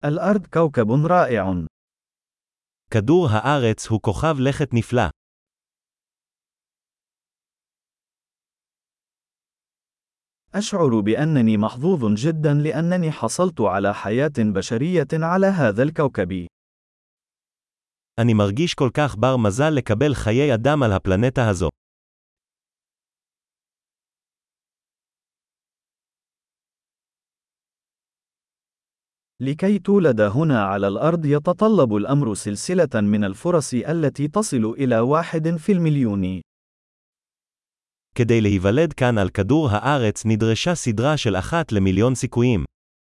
الأرض كوكب رائع. כדור הארץ הוא כוכב לכת נפלא. أشعر بأنني محظوظ جدا لأنني حصلت على حياة بشرية على هذا الكوكب. אני מרגיש כל כך בר מזל לקבל חיי אדם על הפלנטה הזו. لكي تولد هنا على الأرض يتطلب الأمر سلسلة من الفرص التي تصل إلى 1 في 1,000,000. כדי להיוולד כאן על כדור הארץ נדרשה סדרה של 1 למיליון סיכויים.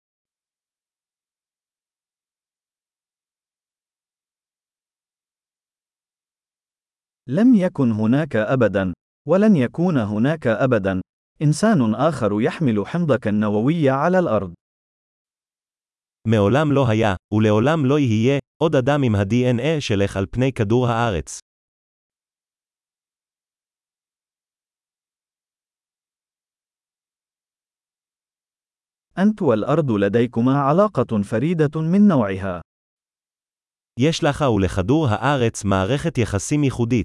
لم يكن هناك أبدا، ولن يكون هناك أبدا، إنسان آخر يحمل حمضك النووي على الأرض. מעולם לא היה, ולעולם לא יהיה, עוד אדם עם ה-DNA שלך על פני כדור הארץ. أنت والأرض لديكما علاقة فريدة من نوعها. יש לך ולכדור הארץ מערכת יחסים ייחודית.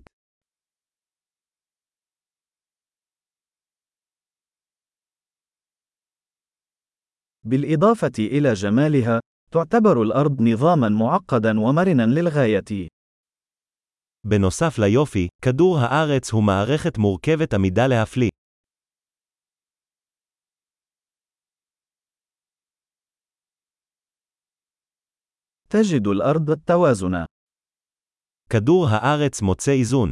بالإضافة إلى جمالها، تعتبر الأرض نظاماً معقداً ومرناً للغاية. בנוסף ליופי, כדור הארץ הוא מערכת מורכבת עמידה להפליא. تجد الأرض التوازن. כדור הארץ מוצא איזון.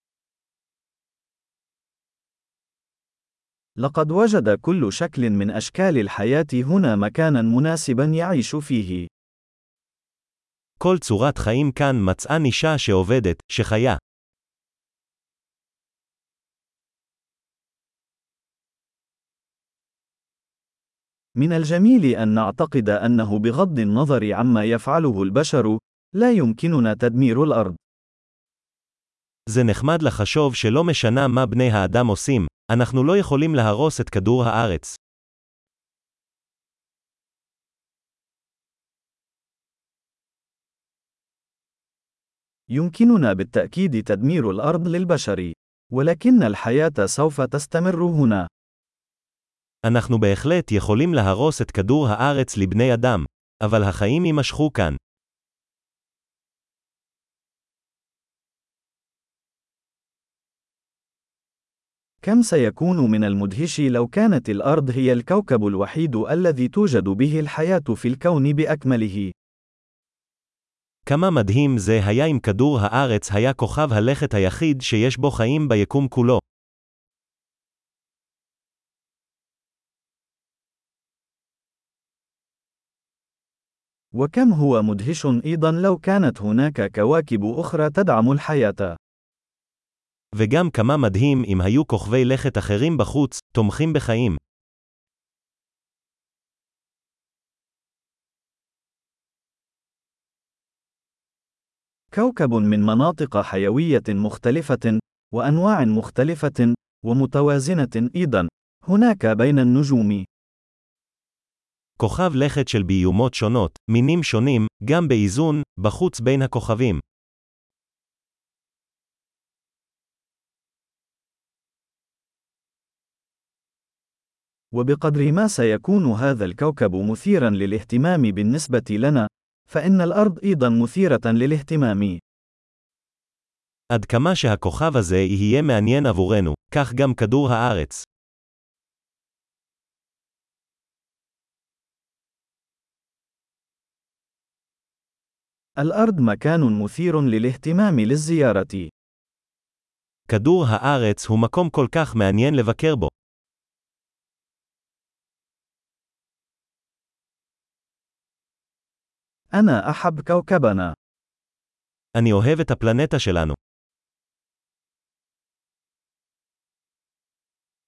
لقد وجد كل شكل من أشكال الحياة هنا مكاناً مناسباً يعيش فيه. כל צורת חיים כאן מצאה נישה שעובדת, שחיה. من الجميل أن نعتقد أنه بغض النظر عما يفعله البشر، لا يمكننا تدمير الأرض. זה נחמד לחשוב שלא משנה מה בני האדם עושים, אנחנו לא יכולים להרוס את כדור הארץ. يمكننا بالتأكيد تدمير الأرض للبشر، ولكن الحياة سوف تستمر هنا. אנחנו בהחלט יכולים להרוס את כדור הארץ לבני אדם, אבל החיים יימשכו כאן. كم سيكون من المدهش لو كانت الأرض هي الكوكب الوحيد الذي توجد به الحياة في الكون بأكمله. כמה מדהים זה היה אם כדור הארץ היה כוכב הלכת היחיד שיש בו חיים ביקום כולו. وكم هو مدهش أيضا لو كانت هناك كواكب أخرى تدعم الحياة. וגם כמה מדהים אם היו כוכבי לכת אחרים בחוץ, תומכים בחיים. كوكب من مناطق حيوية مختلفة، وأنواع مختلفة، ومتوازنة أيضا، هناك بين النجوم. כוכב לכת של ביומות שונות, מינים שונים, גם באיזון, בחוץ בין הכוכבים. وبقدر ما سيكون هذا الكوكب مثيرا للاهتمام بالنسبة لنا، فإن الأرض أيضا مثيرة للاهتمام. עד כמה שהכוכב הזה יהיה מעניין עבורנו, כך גם כדור הארץ. الأرض مكان مثير للاهتمام للزيارة. כדור הארץ הוא מקום כל כך מעניין לבקר בו. أنا أحب كوكبنا. אני אוהב את הפלנטה שלנו.